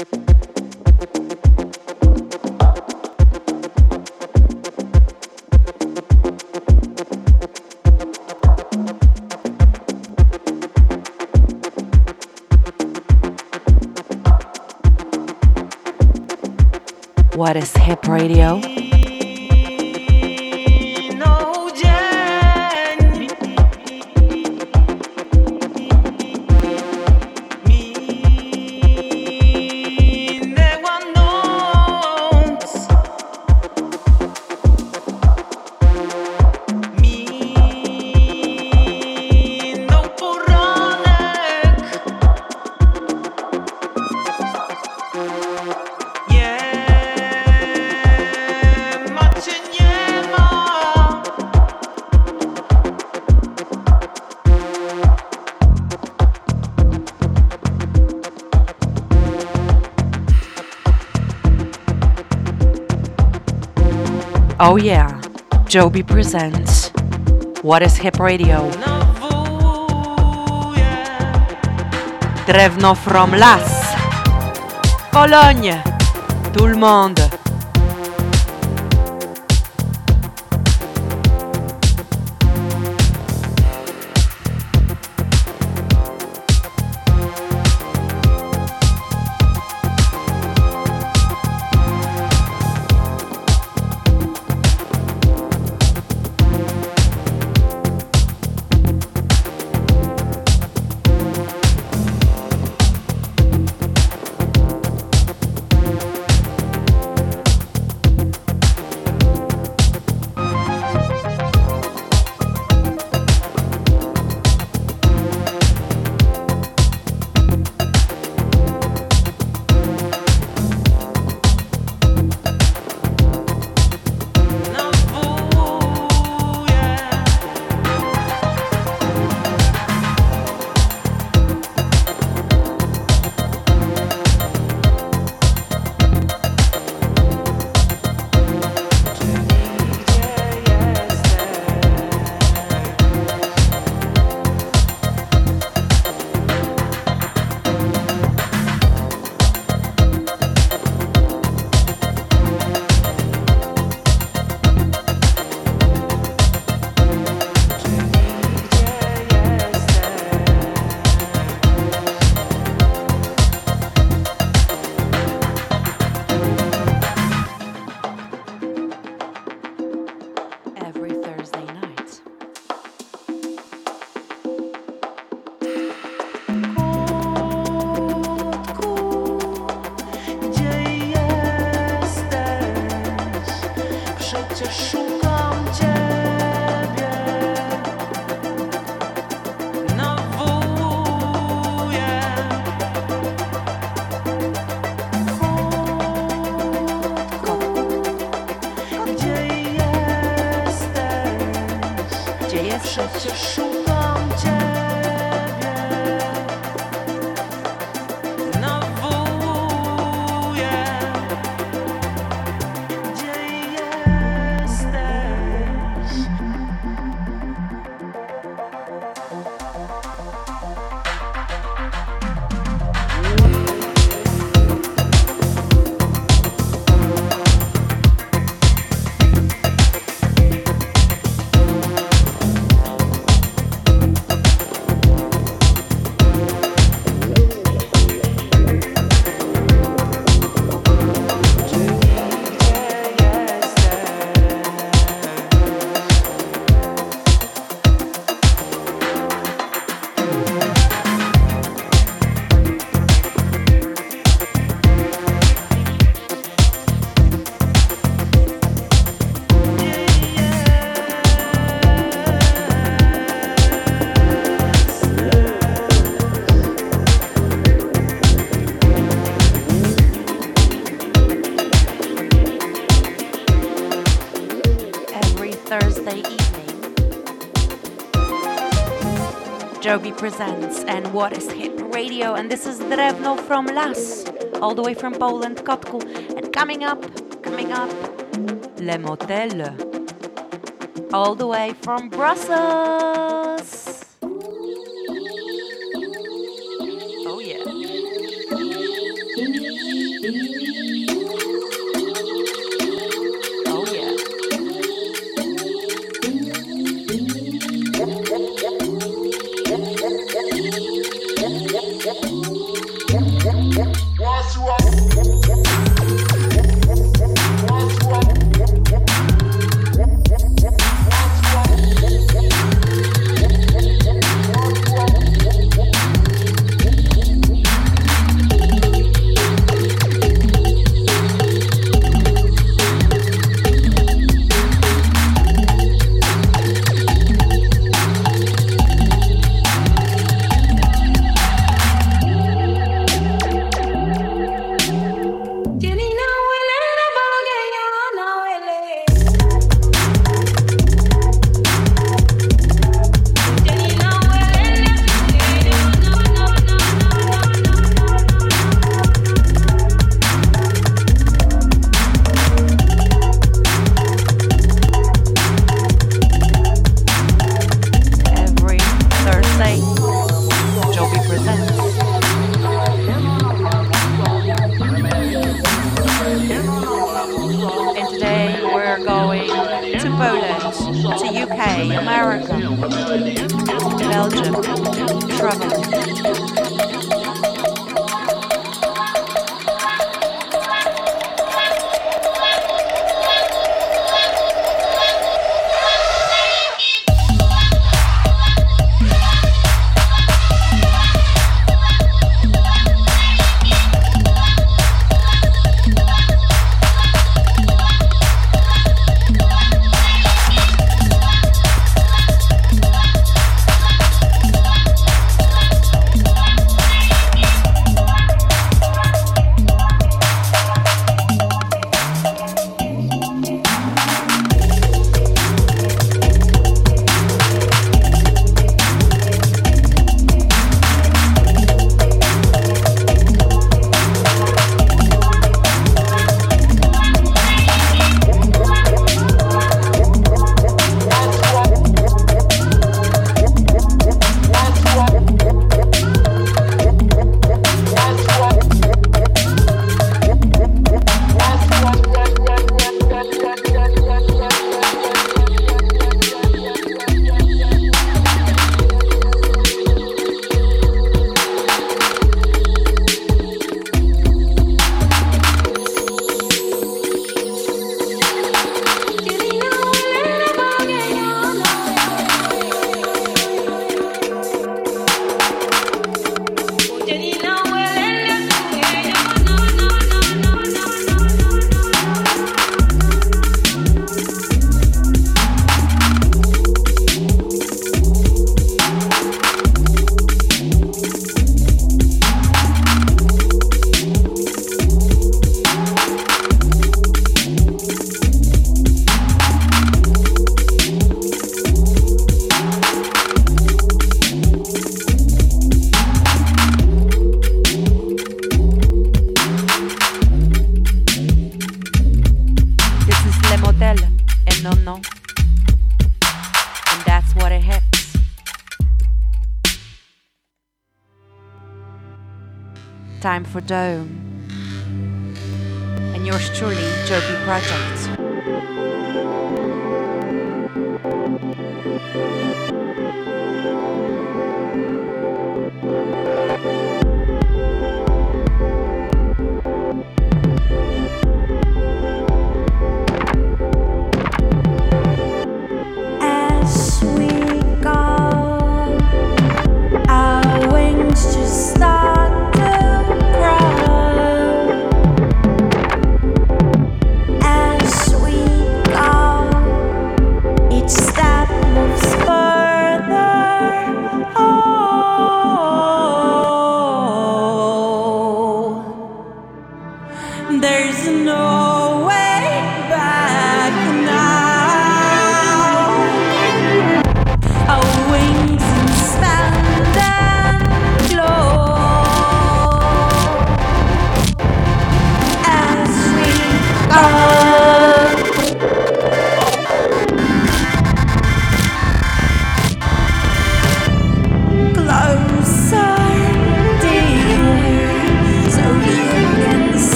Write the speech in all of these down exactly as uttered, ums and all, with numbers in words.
What is Hip Radio? Oh yeah, Joby presents What is Hip Radio? Drewno from Las, Cologne, tout le monde. Joby presents and What is Hip Radio, and this is Drewno from Las, all the way from Poland, Kotku, and coming up, coming up, Le Motel, all the way from Brussels. Oh yeah. Oh yeah. Every Thursday, Joby presents. And today we're going to Poland, to U K, America, Belgium, traveling. Time for Dome. And yours truly, Joby Project. As we go, our wings just start to grow. As we go, each step moves further.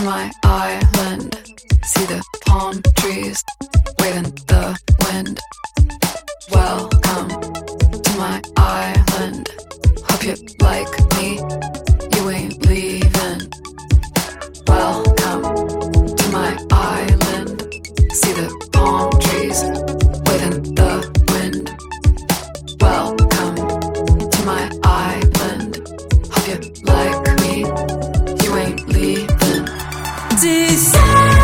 to my island. See the palm trees waving the wind. Welcome to my island. Hope you like me, you ain't leaving. Welcome to my island. See the palm trees waving the wind. Welcome to my island. Hope you like me, you ain't leaving. Desire.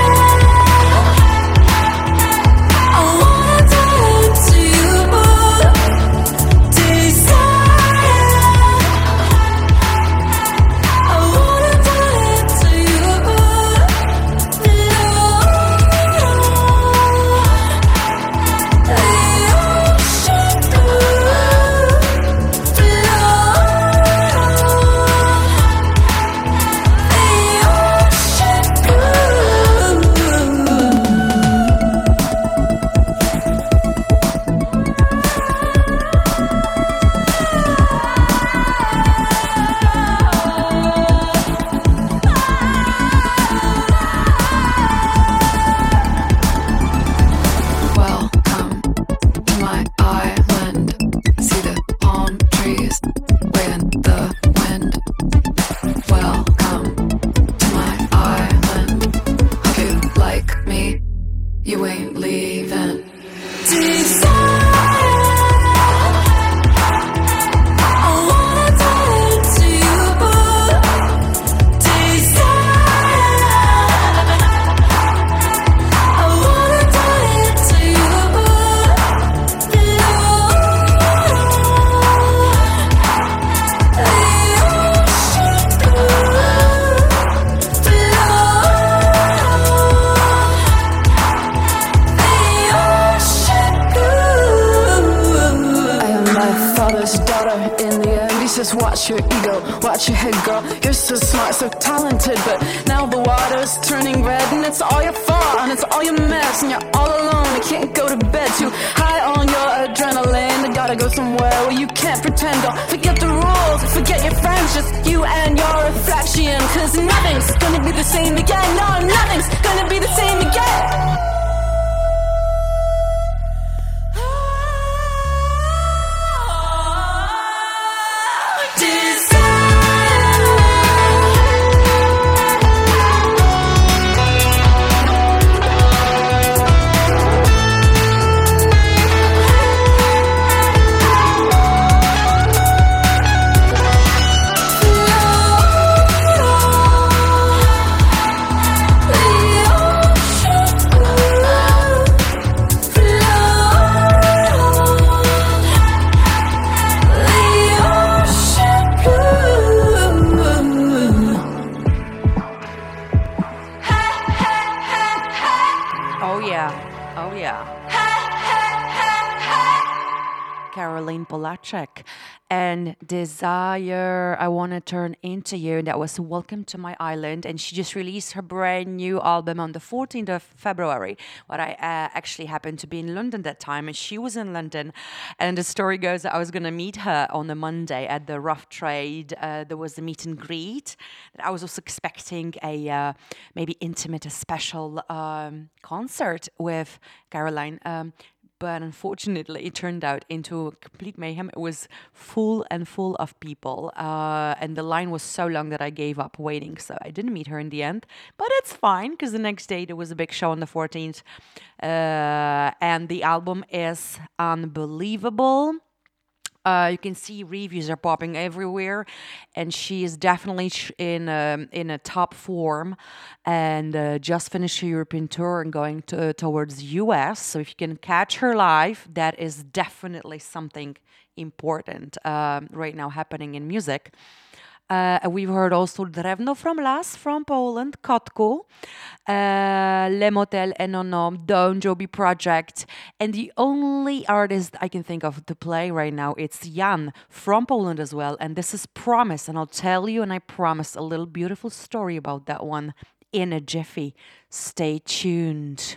Watch your ego, watch your head, girl. You're so smart, so talented, but now the water's turning red, and it's all your fault, and it's all your mess, and you're all alone. You can't go to bed, too high on your adrenaline. You gotta go somewhere where you can't pretend. Don't forget the rules, forget your friends, just you and your reflection. Cause nothing's gonna be the same again. No, nothing's gonna be the same again. Caroline Polachek and Desire, I Want to Turn Into You. And that was Welcome to My Island. And she just released her brand new album on the fourteenth of February. But I uh, actually happened to be in London that time, and she was in London. And the story goes that I was going to meet her on a Monday at the Rough Trade. Uh, there was a meet and greet. I was also expecting a uh, maybe intimate, a special um, concert with Caroline. Um, But unfortunately, it turned out into a complete mayhem. It was full and full of people. Uh, and the line was so long that I gave up waiting. So I didn't meet her in the end. But it's fine, because the next day there was a big show on the fourteenth. Uh, and the album is unbelievable. Uh, you can see reviews are popping everywhere, and she is definitely sh- in a, in a top form, and uh, just finished her European tour and going to, towards U S. So if you can catch her live, that is definitely something important um, right now happening in music. Uh, we've heard also Drewno from Las from Poland, Kotku, uh, Le Motel, Enonom, Don Joby Project, and the only artist I can think of to play right now, it's Jan from Poland as well, and this is Promise, and I'll tell you, and I promise, a little beautiful story about that one in a jiffy. Stay tuned.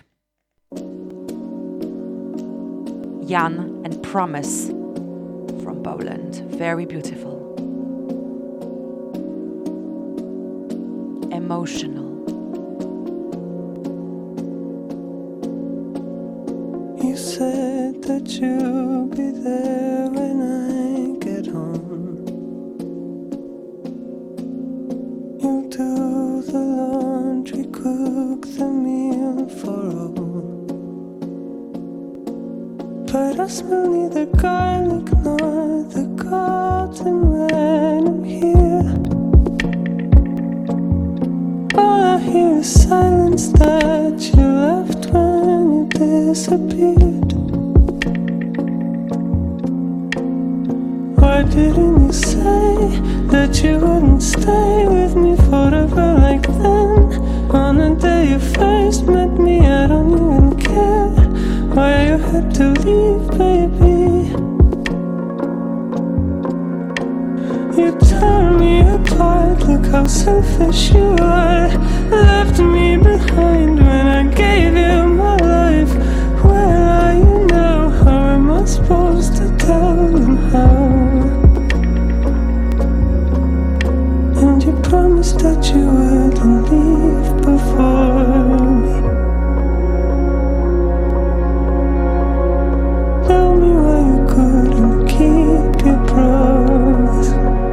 Jan and Promise from Poland, very beautiful. Emotional. said that you'll be there when I get home. You'll do the laundry, cook the meal for all. But I smell neither garlic nor the garden when I'm here. All I hear is silence that you left when you disappeared. Why didn't you say that you wouldn't stay with me forever like then? On the day you first met me, I don't even care why you had to leave, baby. You tore me apart, look how selfish you are. Left me behind when I gave you my life. Where are you now? How am I supposed to tell them how? And you promised that you wouldn't leave before me. Tell me why you couldn't keep your promise.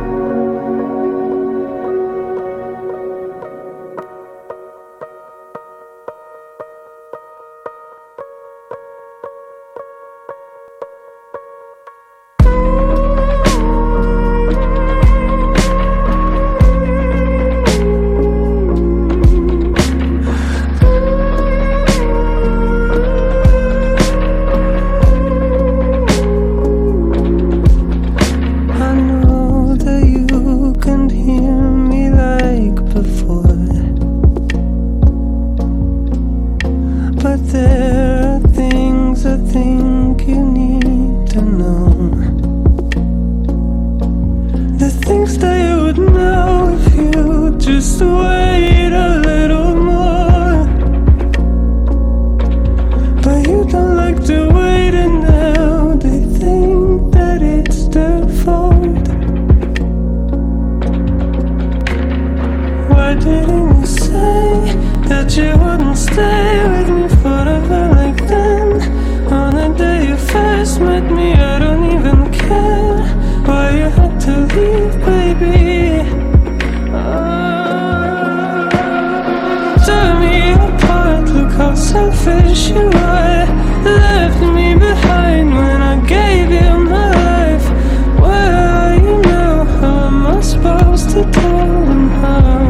Selfish you are, left me behind when I gave you my life. Where are you now? How am I supposed to tell them how?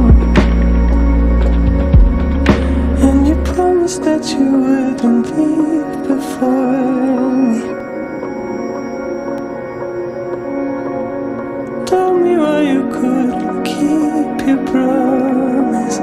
And you promised that you wouldn't leave before me. Tell me why you couldn't keep your promise.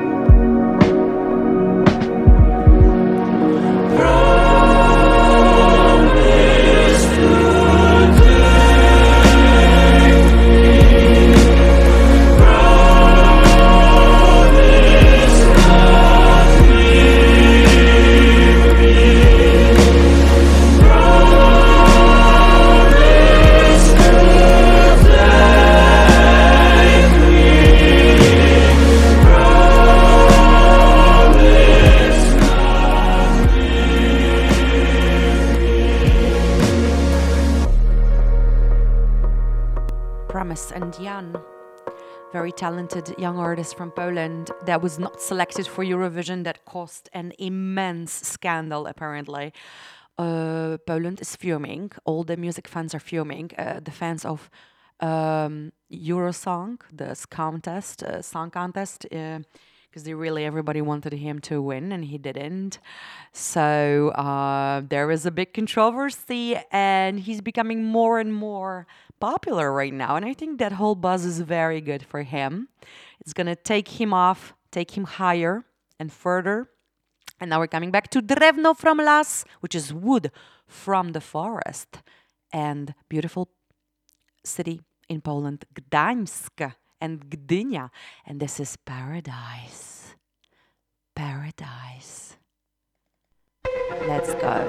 And Jan, very talented young artist from Poland that was not selected for Eurovision, that caused an immense scandal apparently. Uh, Poland is fuming, all the music fans are fuming, uh, the fans of um, Eurosong, the contest, uh, song contest, because uh, they really, everybody wanted him to win and he didn't. So uh, there is a big controversy and he's becoming more and more popular right now, and I think that whole buzz is very good for him. It's gonna take him off, take him higher and further. And now we're coming back to Drewno from Las, which is wood from the forest, and beautiful city in Poland, Gdańsk and Gdynia, and this is Paradise. Paradise. Let's go.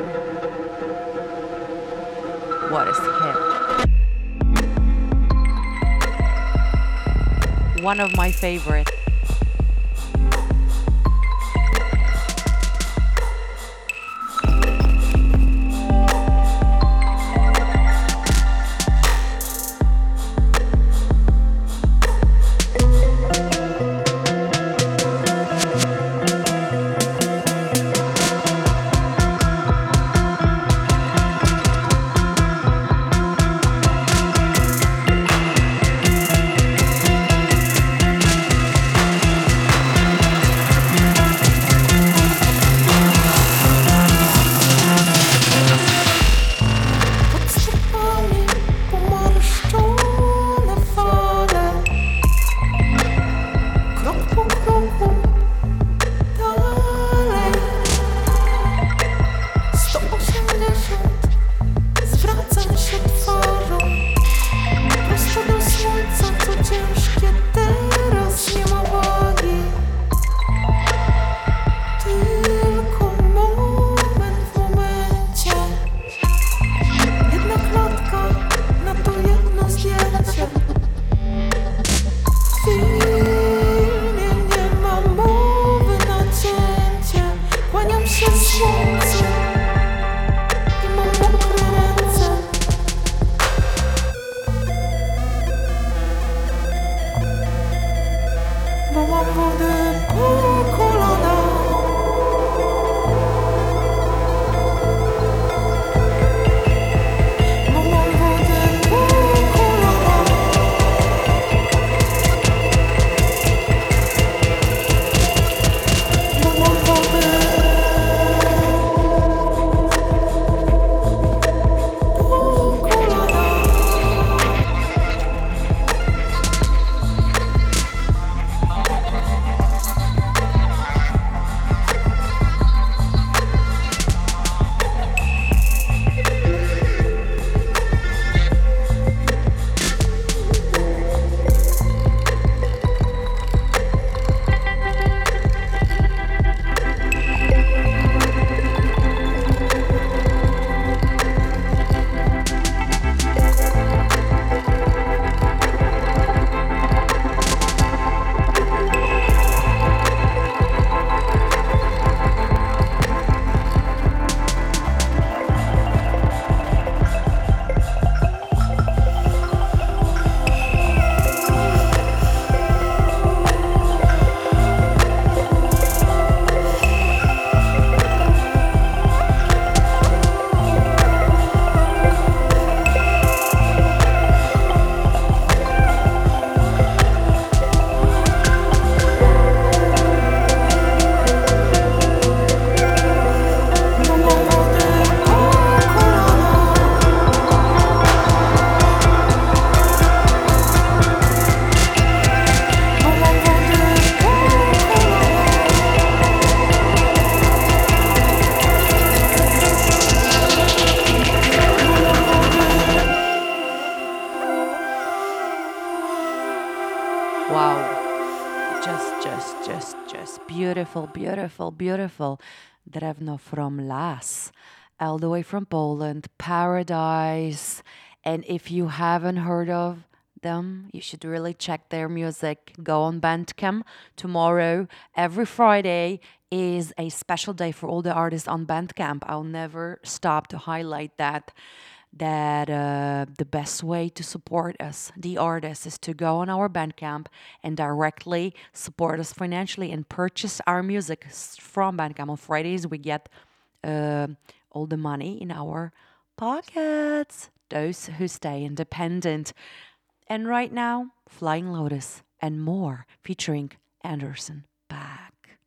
What is hip? One of my favorite. beautiful, beautiful, beautiful Drewno from Las, all the way from Poland, Paradise. And if you haven't heard of them, you should really check their music. Go on Bandcamp. Tomorrow, every Friday, is a special day for all the artists on Bandcamp. I'll never stop to highlight that. That uh, the best way to support us, the artists, is to go on our Bandcamp and directly support us financially and purchase our music from Bandcamp. On Fridays, we get uh, all the money in our pockets, those who stay independent. And right now, Flying Lotus and more, featuring Anderson .Paak.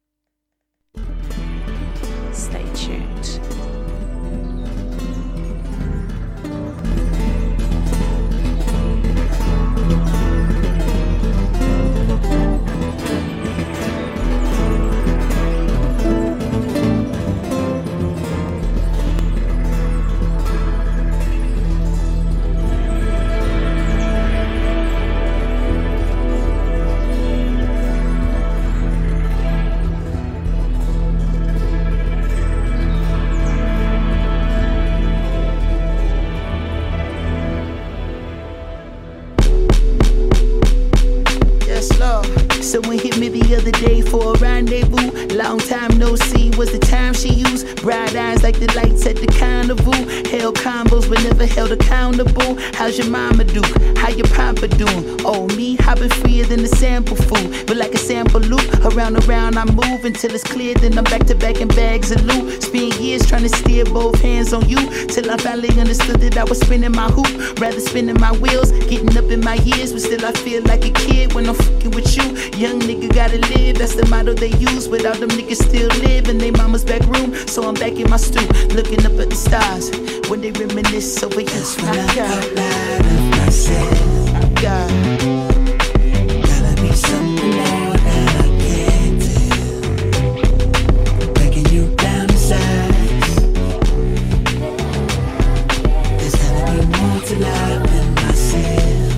Stay tuned. Someone hit me the other day for a rendezvous. Long time no see was the time she used. Bright eyes like the lights at the carnival. Held combos but never held accountable. How's your mama do? How your papa doing? Oh, me, I've been freer than the sample food. But like a sample loop, around and around I move until it's clear. Then I'm back to back in bags of loot. Spend years trying to steer both hands on you, till I finally understood that I was spinning my hoop. Rather spinning my wheels, getting up in my years. But still I feel like a kid when I'm fucking with you. Young nigga gotta live, that's the motto they use. But all them niggas still live in they mama's back room. So I'm back in my stoop, looking up at the stars when they reminisce over you. That's when I got out of myself. God, Gotta be something more that I can't do. Breaking you down to size. There's gotta be more to life than myself.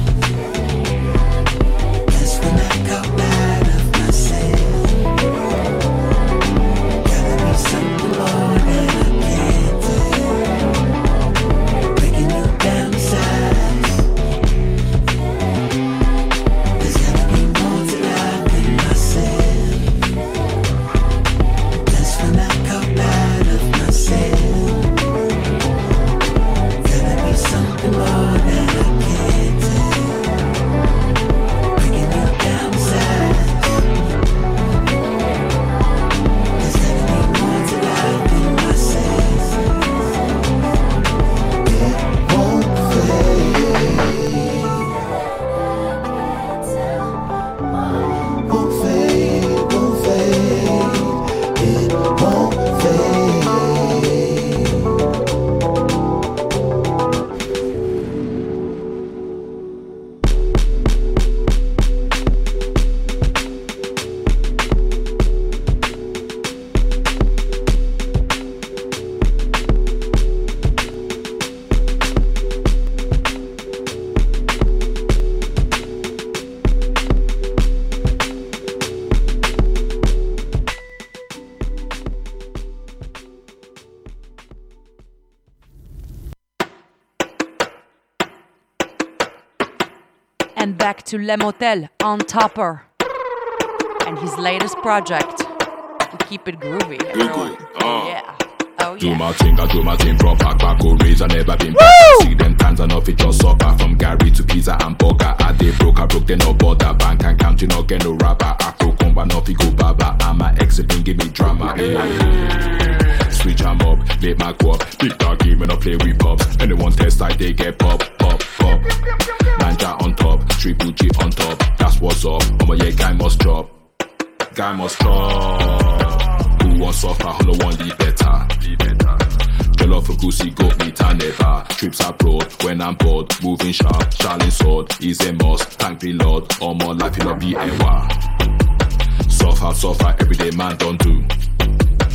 That's when I got out of myself. Gotta be something more that I can't do. Breaking you down to size. There's gotta be more to life than myself. That's when I got out of myself. Gotta be something more that I can't do. Breaking you down to size. There's gotta be more to life than myself. It won't fade. Won't fade, won't fade. It won't fade. And back to Le Motel on Topper and his latest project. We keep it groovy, everyone. Uh. Yeah. Oh Do yeah. my thing, I do my thing from pack back or raise. I never been back. See them times I know it just suffer. From Gary to pizza and burger. I they broke, I broke, they no bother. Bank and count, you no get no rapper. I broke, come but no go baba. I'm my ex, been give me drama. Hey. Switch 'em up, make my go up. Big dog game when I play with pops. Anyone test like they get pop, pop, pop. Manja on top, triple G on top. That's what's up. Oh yeah, guy must drop. Guy must drop. Who wants suffer? Who no want the better? The better. Jollof for goosey, goat meat and never. Trips abroad when I'm bored. Moving sharp, Charlie sword is a must. Thank the Lord. All more life in a be a war. Suffer, suffer, everyday man don't do.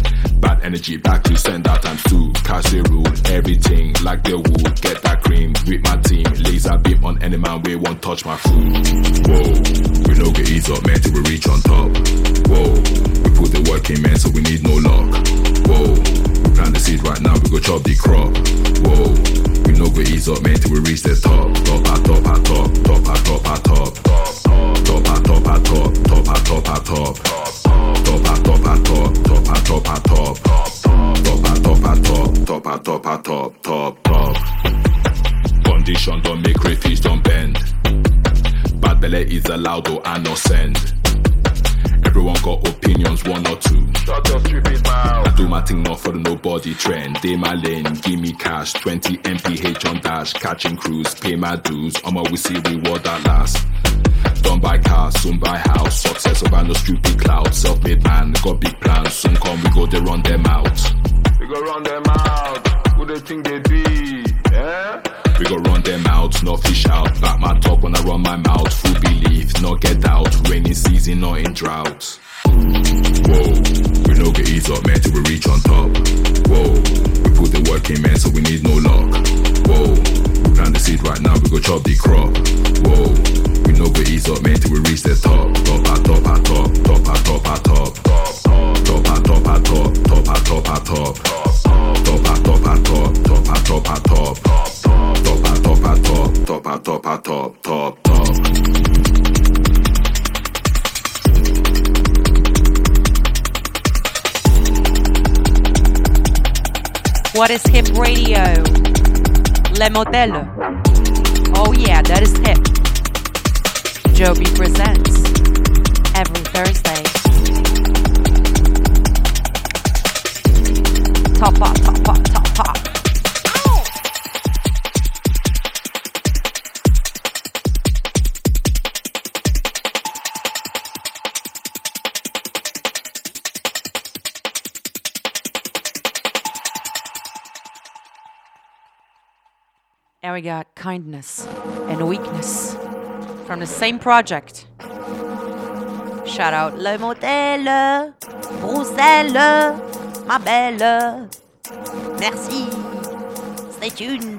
bad energy back to send out times two. Cash they rule everything like they would. Get that cream with my team. Laser beam on any man we won't touch my food. Whoa, we no get ease up man till we reach on top. Whoa, we put the work in man so we need no luck. Whoa, we plant the seed right now we go chop the crop. Whoa, we no go ease up man till we reach the top. Top at top at top, top at top at top. Top at top at top, top at top at top. Top at top at top, top at top at top. Top at top at top, top at top at top, top, top. Condition don't make crayfish don't bend. Bad belly is allowed or I no send. Everyone got opinions, one or two. Shut your stupid mouth. I do my thing not for the nobody trend. Day my lane, give me cash, twenty M P H on dash, catching crews, pay my dues. I'ma we see reward that last. Don't buy cars, soon buy house. Success over no stupid cloud. Self-made man, got big plans. Soon come we go they run them out. We go run them out. Who they think they be? Yeah? We go run them out, no fish out. Back my talk when I run my mouth. Full belief, no get out. Rainy season, not in drought. Whoa, we no get ease up man till we reach on top. Whoa, we put the work in man so we need no luck. Whoa, we plant the seed right now we go chop the crop. Whoa, we no go ease up man till we reach the top. Top at top at top, top at top at top. Top at top at top, top at top at top. Top at top at top, top at top at top. Top at top at top, top at top at top, top, top. What is hip radio? Le Modèle. Oh yeah, that is hip. Joby presents every Thursday. Top up, top up, top up. And we got Kindness and Weakness from the same project. Shout out Le Modèle, Bruxelles, ma belle. Merci. Stay tuned.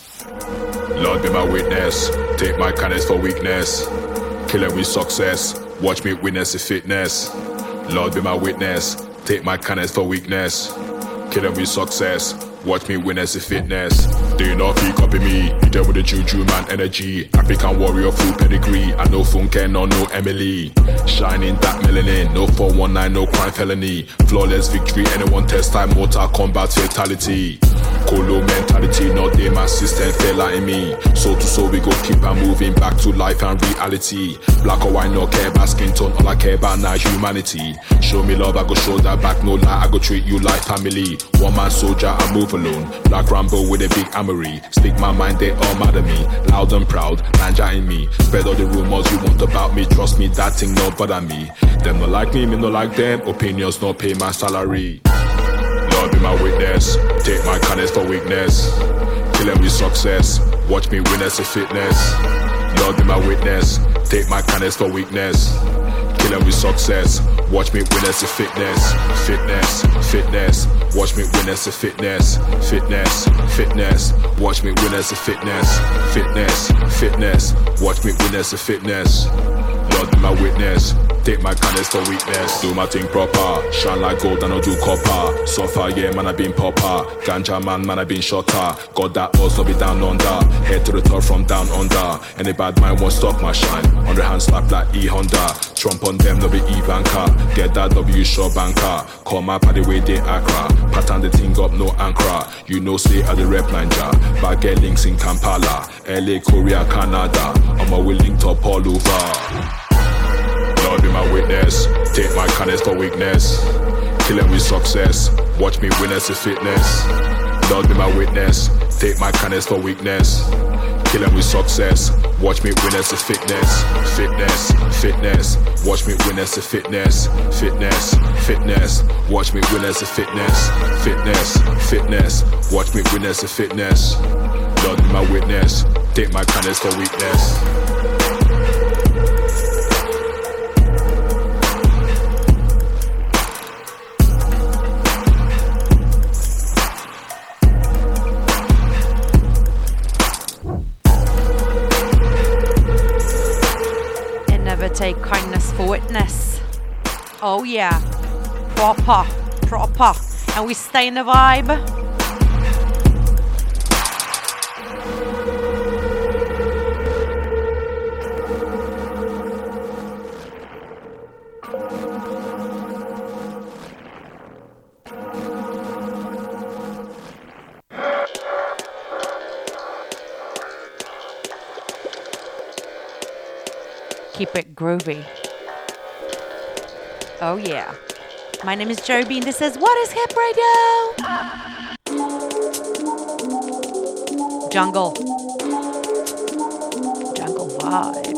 Lord be my witness, take my kindness for weakness. Kill it with success, watch me witness the fitness. Lord be my witness, take my kindness for weakness. Kill it with success, watch me witness the fitness. They not feel copy me, you deal with the juju man energy. African warrior full pedigree, I know Funke, no no Emily. Shining that melanin, no four one nine, no crime felony. Flawless victory, anyone test time, mortal combat fatality. Colo mentality, not they my system fella in me. Soul to soul we go keep on moving back to life and reality. Black or white, no care about skin tone, all I care about now humanity. Show me love, I go show that back, no lie, I go treat you like family. One man soldier, I move alone. Black Rambo with a big armory. Stick my mind, they all mad at me. Loud and proud, Nanja in me. Spread all the rumors you want about me. Trust me, that thing no bother me. Them no like me, me no like them. Opinions no pay my salary. Lord be my witness, take my kindness for weakness. Kill them with success, watch me witness the fitness. Lord be my witness, take my kindness for weakness. Kill them with success, watch me witness the fitness. Fitness, fitness, watch me witness the fitness. Fitness, fitness, watch me witness the fitness. Fitness, fitness, watch me witness the fitness. Lord be my witness, take my kindness for weakness. Do my thing proper, shine like gold and I do copper. So far, yeah, man, I been popper. Ganja man, man, I been shotter. Got that also be down under. Head to the top from down under. Any bad mind won't stop my shine. On the hand slap like E Honda. Trump on them, no be E banker. Get that W short banker. Call my party way they Accra. Pattern the thing up, no anchor. You know, say at the rep ninja. But get links in Kampala, L A, Korea, Canada. I'm a will link up all over. Lord be my witness, take my kindness for weakness. Kill it with success, watch me witness the fitness. Lord be my witness, take my kindness for weakness. Kill it with success, watch me witness the fitness. Fitness, fitness, watch me witness the fitness. Fitness, fitness, watch me witness the fitness. Fitness, fitness, watch me witness the fitness. Lord be my witness, take my kindness for weakness. Oh yeah, proper, proper. And we stay in the vibe. Keep it groovy. Oh yeah. My name is Joby and this is What is Hip Radio? Jungle. Jungle vibes.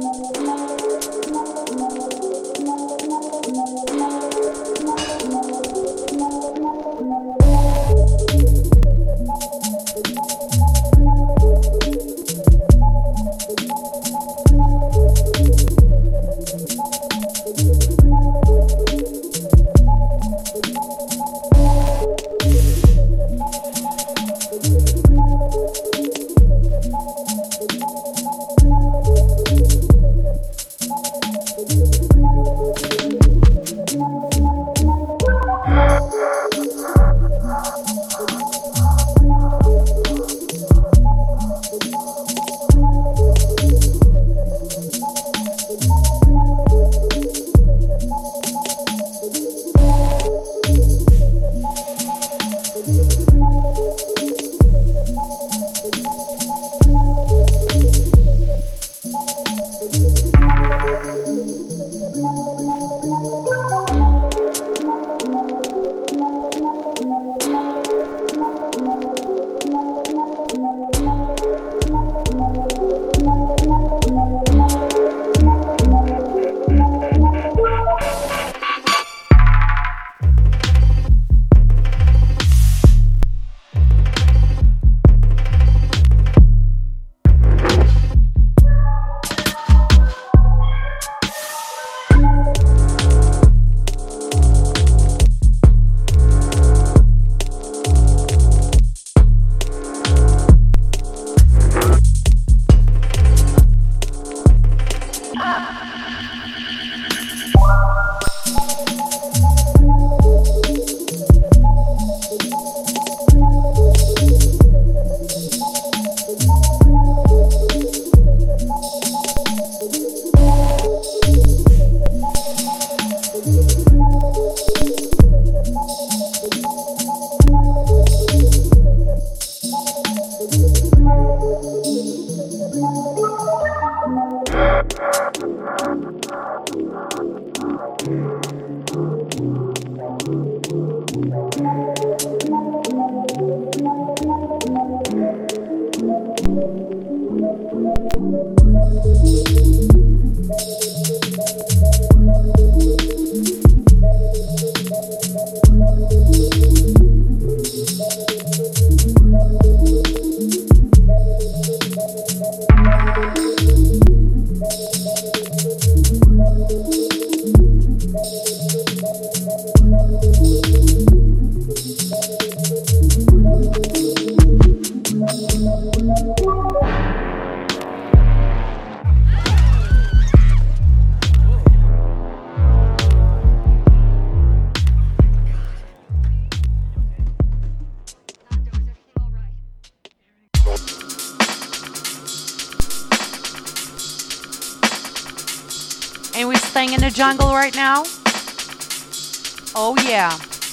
Jungle right now. Oh yeah.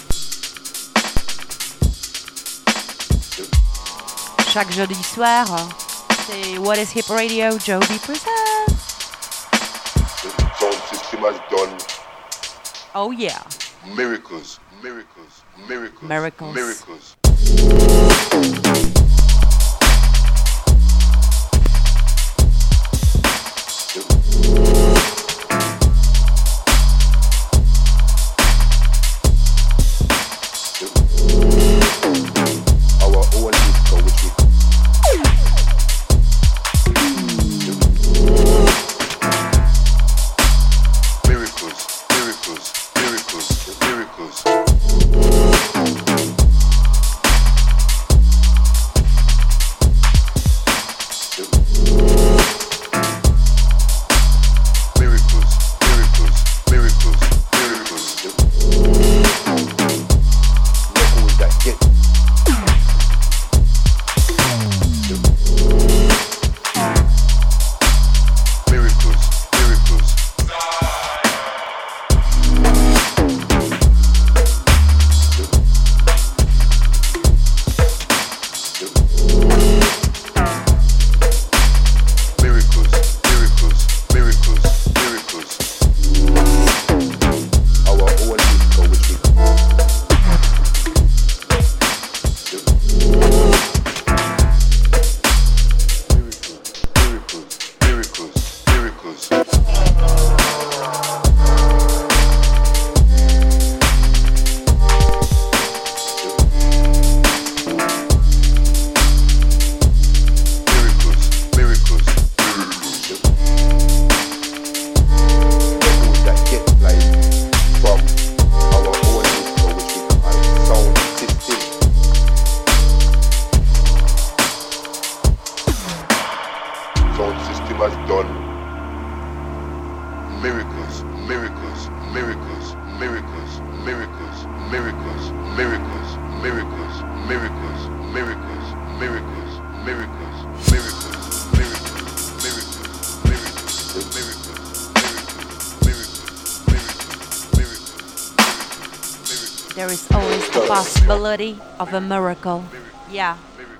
Chaque jeudi soir, c'est What is Hip Radio, Joby presents. The sound system has done. Oh yeah. Miracles, miracles, miracles, miracles, miracles. Miracles, miracles, miracles, miracles. miracles, miracles, miracles, miracles, miracles, miracles, miracles, miracles, miracles, miracles. There is always the possibility of a miracle. Yeah.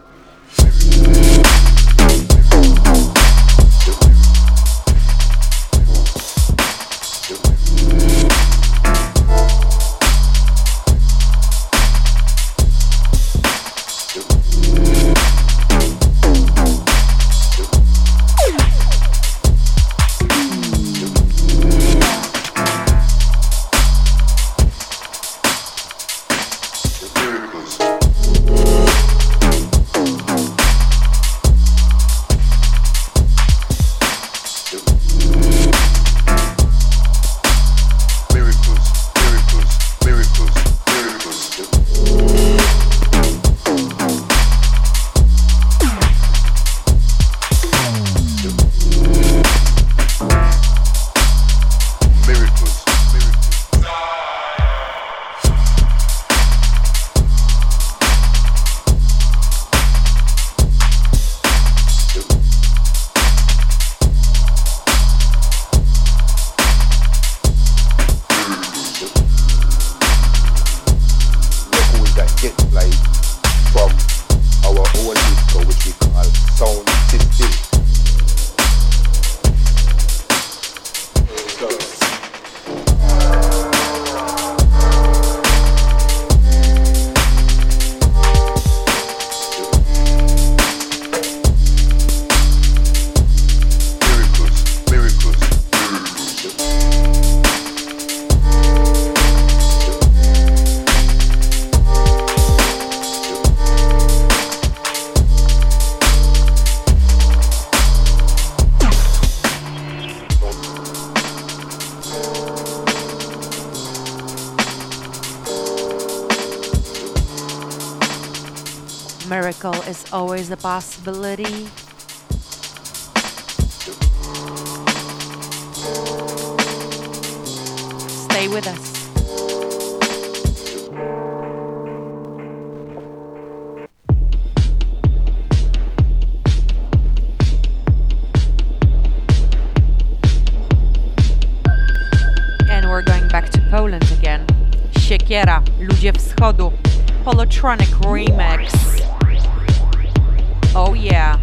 Miracle is always a possibility. Stay with us. And we're going back to Poland again. Siekiera, Ludzie Wschodu, Polotronic remix. Oh yeah.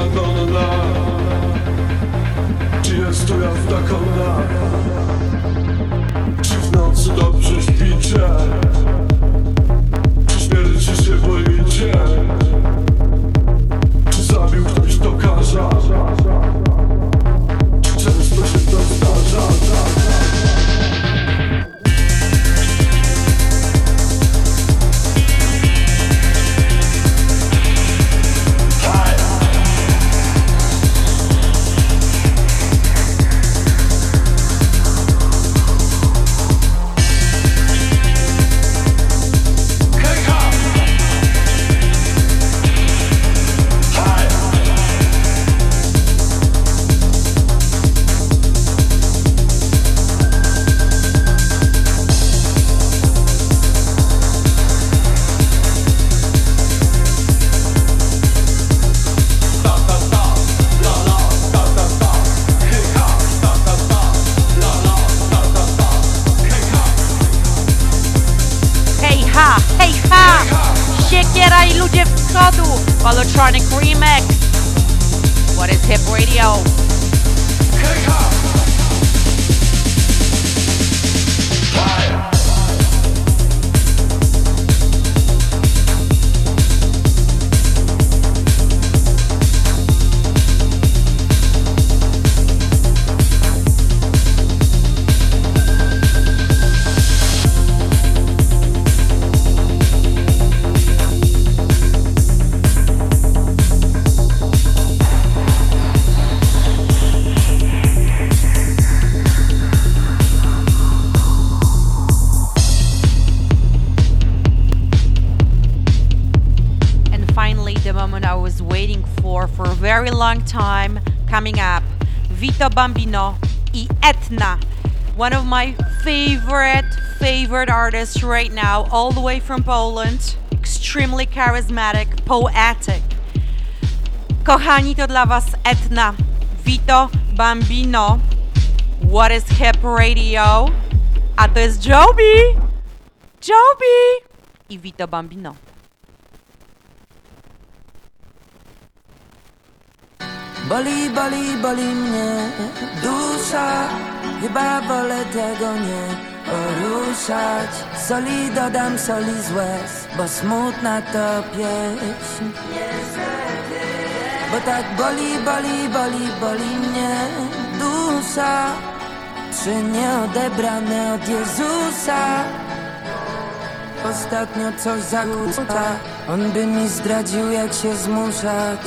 nagonna. Czy jest to jazda konna? Czy w nocy dobrze śpicie? Czy śmierci się boicie? Czy zabił ktoś tokarza? Czy często się to zdarza? Electronic remix. What is Hip Radio? Very long time coming up. Vito Bambino e Etna, one of my favorite favorite artists right now, all the way from Poland. Extremely charismatic, poetic. Kochani, to dla was Etna, Vito Bambino. What is Hip Radio? A to jest Joby, Joby i Vito Bambino. Boli, boli, boli mnie dusza, chyba wolę tego nie poruszać. Soli dodam, soli z łez, bo smutna to pieśń. Bo tak boli, boli, boli, boli mnie dusza, trzy nieodebrane od Jezusa. Ostatnio coś zakłóca, on by mi zdradził, jak się zmuszać.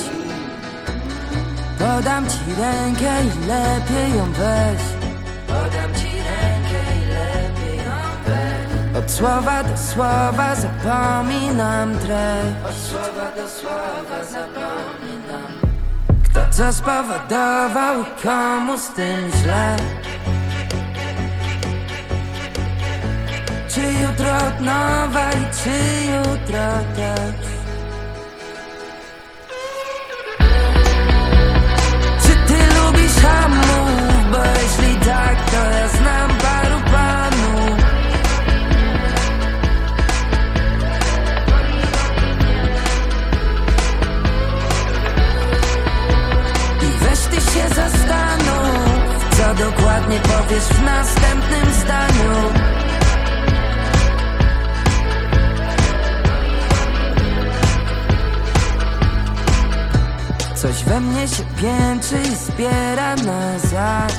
Podam ci rękę i lepiej ją weź. Podam ci rękę i lepiej ją weź. Od słowa do słowa zapominam treść. Od słowa do słowa zapominam. Kto co spowodował i komu z tym źle? Czy jutro od nowa i czy jutro też? Hamów, bo jeśli tak, to ja znam paru panów. I weź ty się zastanów, co dokładnie powiesz w następnym zdaniu. Coś we mnie się piętrzy i zbiera na zaś.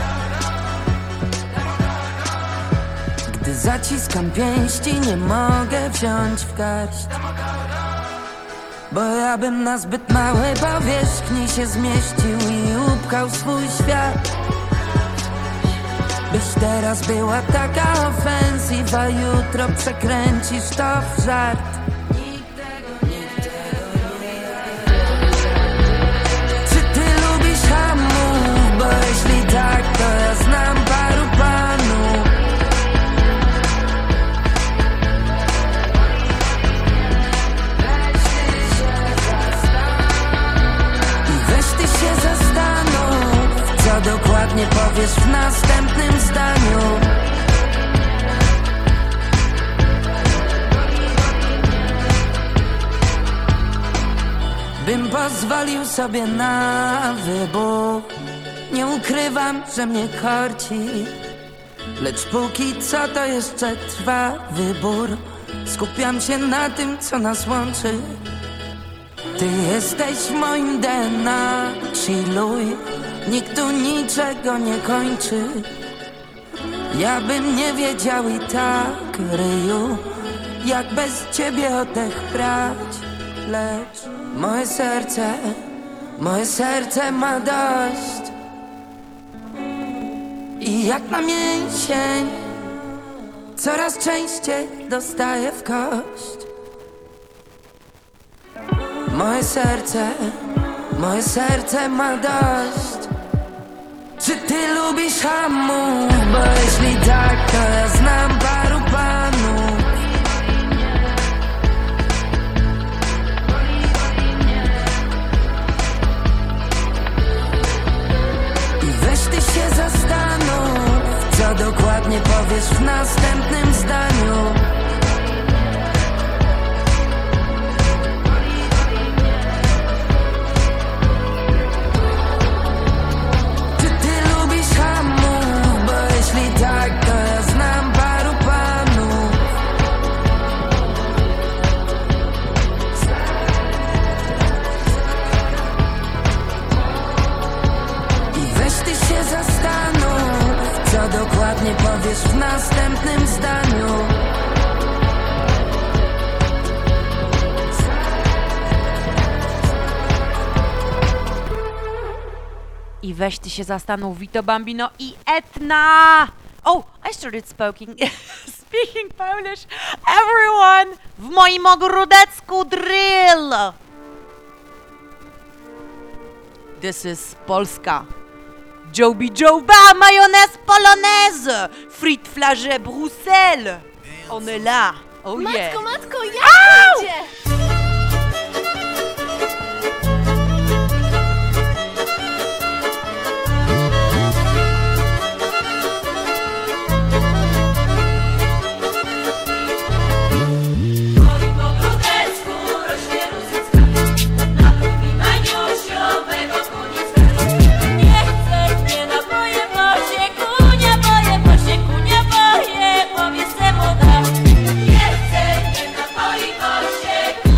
Gdy zaciskam pięści, nie mogę wziąć w garść. Bo ja bym na zbyt małej powierzchni się zmieścił i upchał swój świat. Byś teraz była taka ofensywa, jutro przekręcisz to w żart. Tak, to ja znam paru panów. I weź ty się zastanów, co dokładnie powiesz w następnym zdaniu. bym pozwolił sobie na wybór. Nie ukrywam, że mnie korci, lecz póki co to jeszcze trwa wybór. Skupiam się na tym, co nas łączy. Ty jesteś w moim D N A, chilluj. Nikt tu niczego nie kończy. Ja bym nie wiedział i tak, ryju, jak bez ciebie oddech brać. Lecz moje serce, moje serce ma dość. I jak na mięsień coraz częściej dostaję w kość. Moje serce, moje serce ma dość. Czy ty lubisz hamów? Bo jeśli tak, to ja znam paru panów. I weź ty się zastanów, co dokładnie powiesz w następnym zdaniu. Tak, to ja znam paru panów. I weź ty się zastanów, co dokładnie powiesz w następnym zdaniu. I weź ty się zastanów, Vito Bambino i Etna. Oh, I started speaking, speaking Polish. Everyone, w moim ogródecku drill. This is Polska. Joby Joba, mayonnaise polonaise. Frites flagey Bruxelles. On est là. Oh matko, yeah. Matko, matko, jak idzie? Powie se moda. Nie chcę, nie napoi, bo się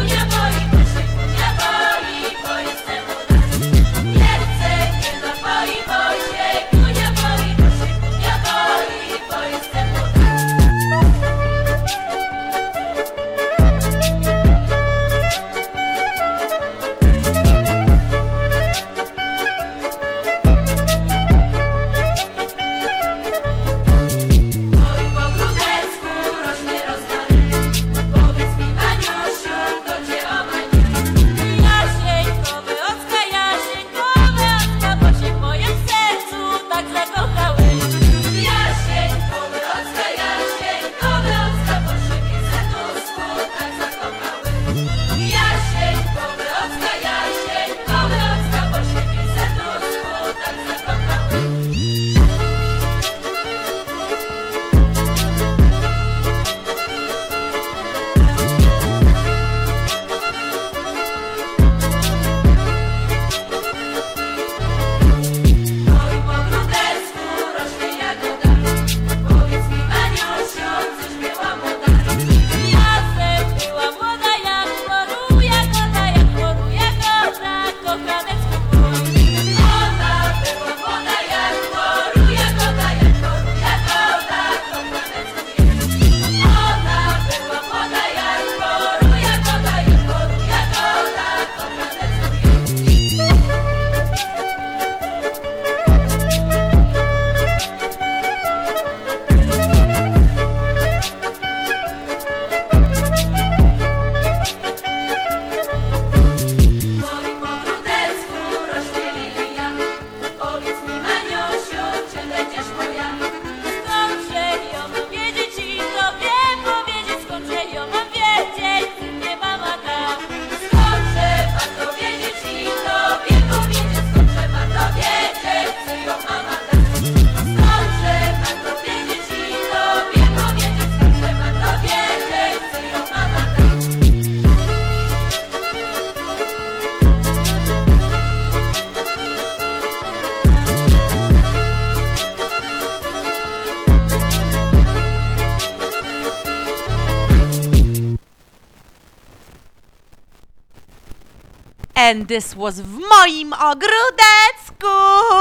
And this was w moim ogródecku.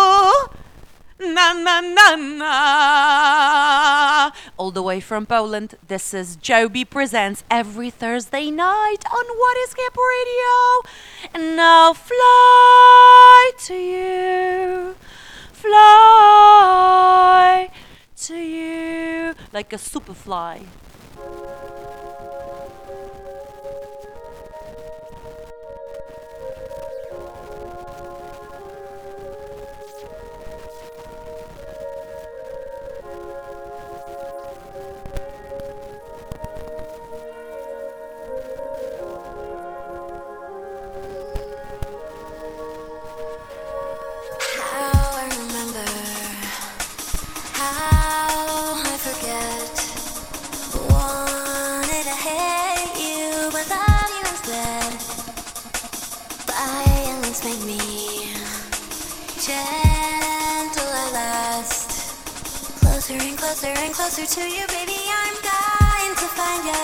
Na na na na. All the way from Poland, this is Joby Presents every Thursday night on What is Hip Radio. And now fly to you, fly to you, like a superfly. Make me gentle at last. Closer and closer and closer to you, baby. I'm dying to find you.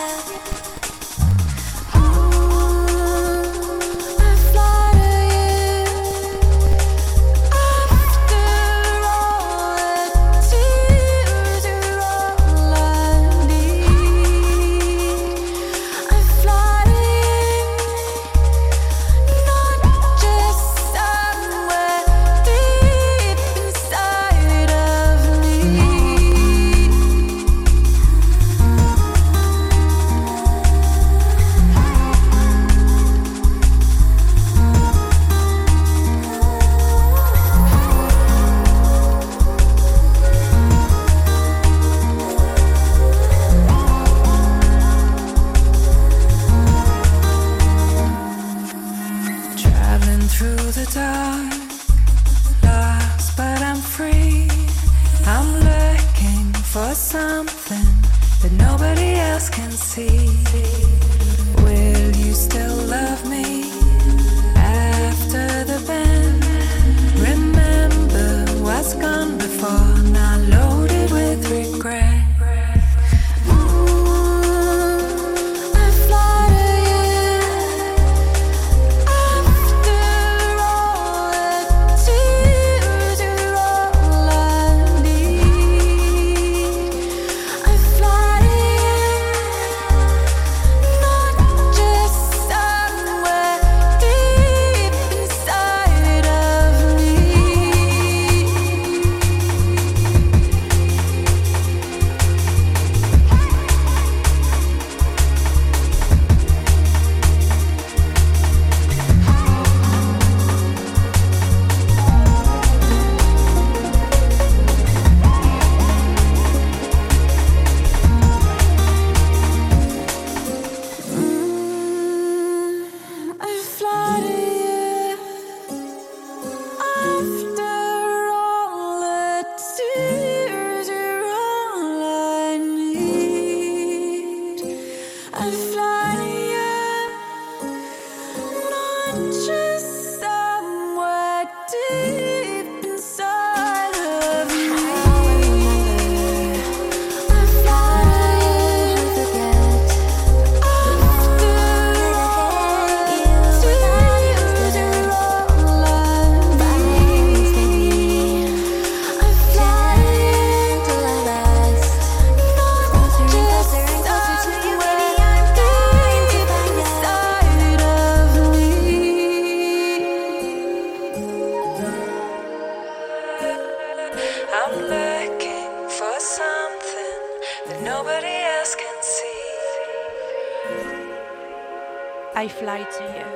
I fly to you.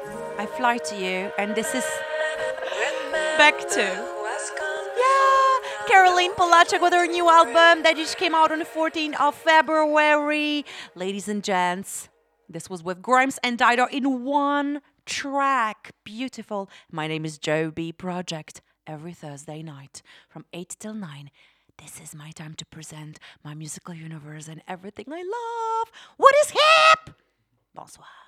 I fly to you, and this is back to yeah, Caroline Polachek with her new album that just came out on the fourteenth of February. Ladies and gents, this was with Grimes and Dido in one track. Beautiful. My name is Joby Project. Every Thursday night from eight till nine. This is my time to present my musical universe and everything I love. What is hip? Bonsoir.